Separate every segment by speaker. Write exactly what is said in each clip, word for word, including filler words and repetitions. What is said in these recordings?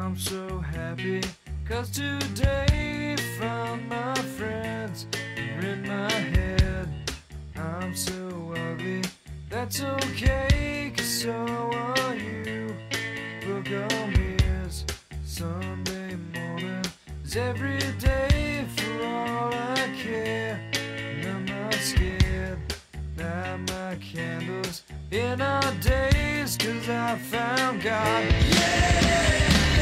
Speaker 1: I'm so happy, cause today found my friends are in my head. I'm so ugly, that's okay, cause so are you. Book on mirrors, Sunday morning is every day for all I care. And I'm not scared, light my candles in our days, cause I found God. Yeah!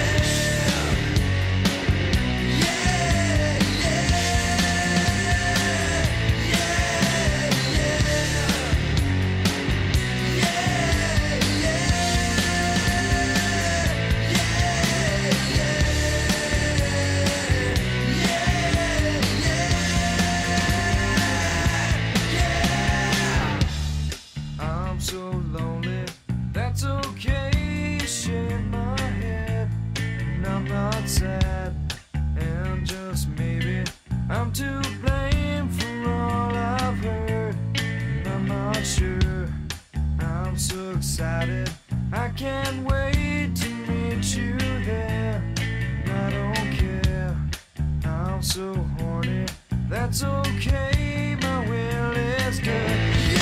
Speaker 1: So lonely, that's okay, shake my head, and I'm not sad, and just maybe I'm to blame for all I've heard, and I'm not sure, I'm so excited, I can't wait to meet you there, and I don't care, I'm so horny, that's okay, my will is good.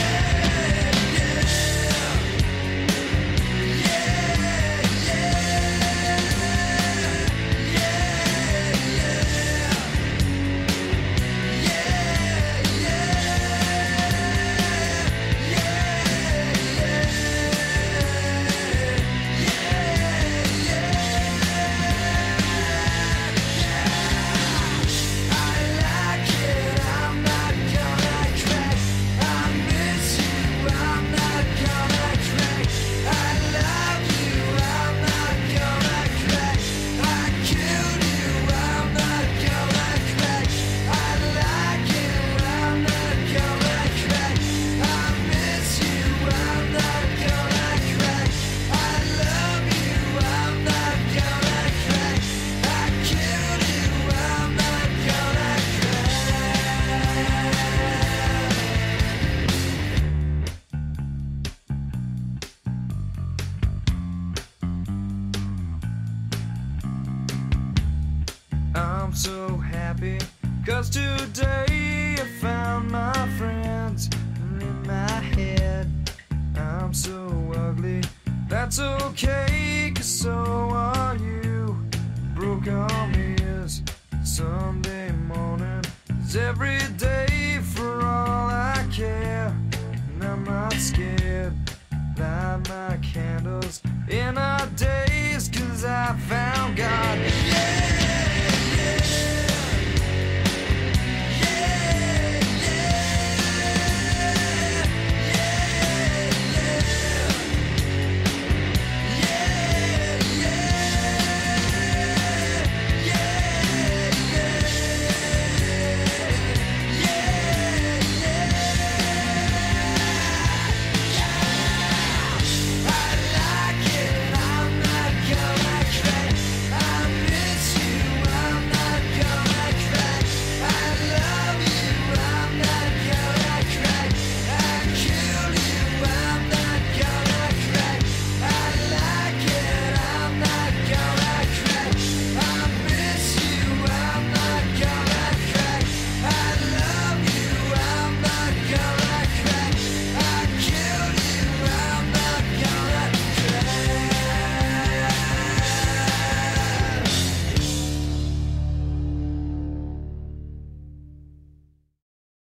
Speaker 1: I'm so happy, cause today I found my friends in my head. I'm so ugly, that's okay, cause so are you. Broke arm is Sunday morning is every day for all I care. And I'm not scared, light my candles in our day.